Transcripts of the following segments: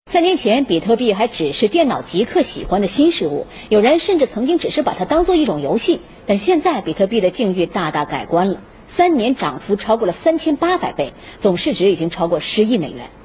3年前，比特币还只是电脑极客喜欢的新事物，有人甚至曾经只是把它当做一种游戏。但是现在，比特币的境遇大大改观了，3年涨幅超过了3800倍，总市值已经超过10亿美元。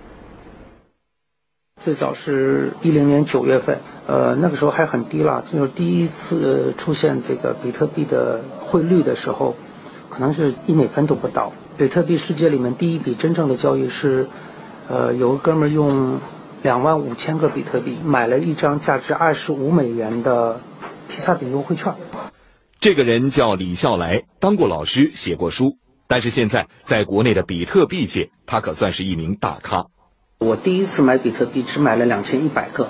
最早是10年9月份，那个时候还很低了，就是第一次出现这个比特币的汇率的时候，可能是1美分都不到。比特币世界里面第一笔真正的交易是，有个哥们儿用25000个比特币买了一张价值25美元的披萨饼优惠券。 这个人叫李笑来，当过老师，写过书，但是现在在国内的比特币界，他可算是一名大咖。 我第一次买比特币只买了2100个，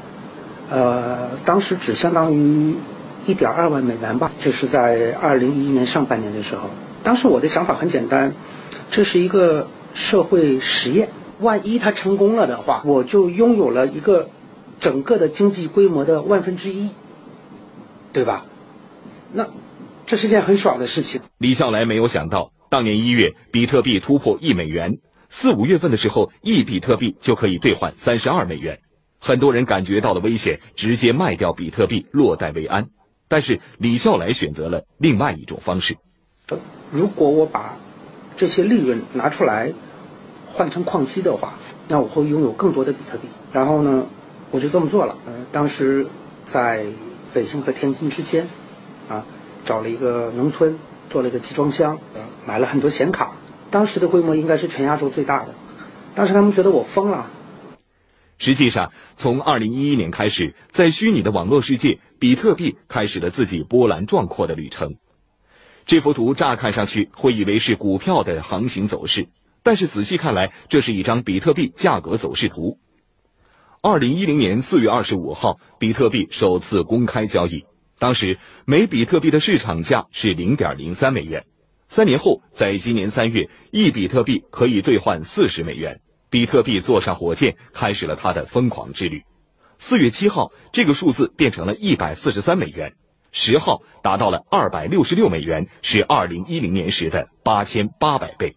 当时只相当于1.2万美元吧，这是在2011年上半年的时候。当时我的想法很简单，这是一个社会实验，万一它成功了的话，我就拥有了一个整个的经济规模的1/1000，对吧？那这是件很爽的事情。 李笑来没有想到，当年1月，比特币突破1美元，4、5月份的时候，1比特币就可以兑换32美元。很多人感觉到了危险，直接卖掉比特币，落袋为安。但是李笑来选择了另外一种方式。 如果我把这些利润拿出来换成矿机的话，那我会拥有更多的比特币。然后呢，我就这么做了。当时在北京和天津之间，找了一个农村，做了一个集装箱，买了很多显卡。当时的规模应该是全亚洲最大的。当时他们觉得我疯了。 实际上，从2011年开始，在虚拟的网络世界，比特币开始了自己波澜壮阔的旅程。这幅图乍看上去会以为是股票的行情走势，但是仔细看来，这是一张比特币价格走势图。2010年4月25号，比特币首次公开交易，当时每比特币的市场价是 0.03 美元。3年后，在今年3月，1比特币可以兑换40美元，比特币坐上火箭，开始了它的疯狂之旅。4月7号，这个数字变成了143美元，10号达到了266美元，是2010年时的8800倍。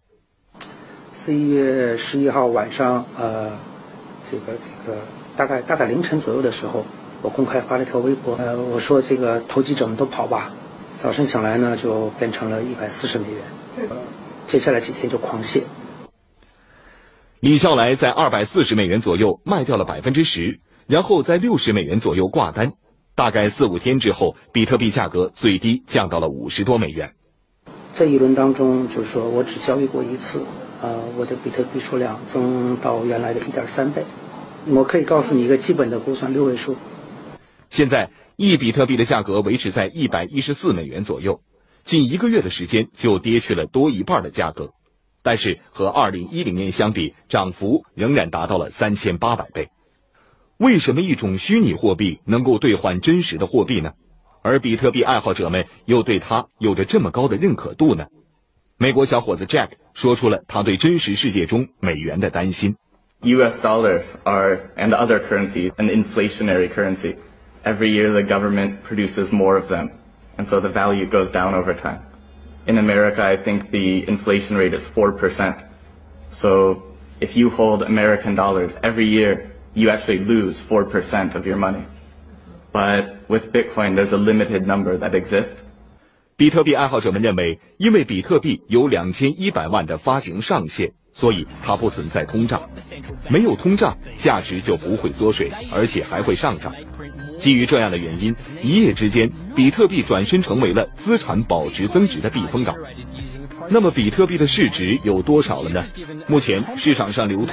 11月11号晚上，这个大概凌晨左右的时候，我公开发了一条微博，我说这个投机者们都跑吧。早晨醒来呢，就变成了140美元，接下来几天就狂泻。 李笑来在240美元左右卖掉了10%，然后在60美元左右挂单。大概4、5天之后，比特币价格最低降到了50多美元。 这一轮当中，就是说我只交易过一次，我的比特币数量增到原来的1.3倍。我可以告诉你一个基本的估算，6位数。 现在1比特币的价格维持在114美元左右，近1个月的时间就跌去了多一半的价格。但是和2010年相比，涨幅仍然达到了3800倍。为什么一种虚拟货币能够兑换真实的货币呢？而比特币爱好者们又对它有着这么高的认可度呢？美国小伙子 Jack 说出了他对真实世界中美元的担心。 US dollars are, and other currencies, an inflationary currency. Every year the government produces more of them, and so the value goes down over time. In America, I think the inflation rate is 4%. So if you hold American dollars every year, you actually lose 4% of your money. But with Bitcoin, there's a limited number that exists. 比特币爱好者们认为，因为比特币有2100万的发行上限，所以它不存在通胀。没有通胀，价值就不会缩水，而且还会上涨。基于这样的原因，一夜之间，比特币转身成为了资产保值增值的避风港。那么，比特币的市值有多少了呢？目前市场上流通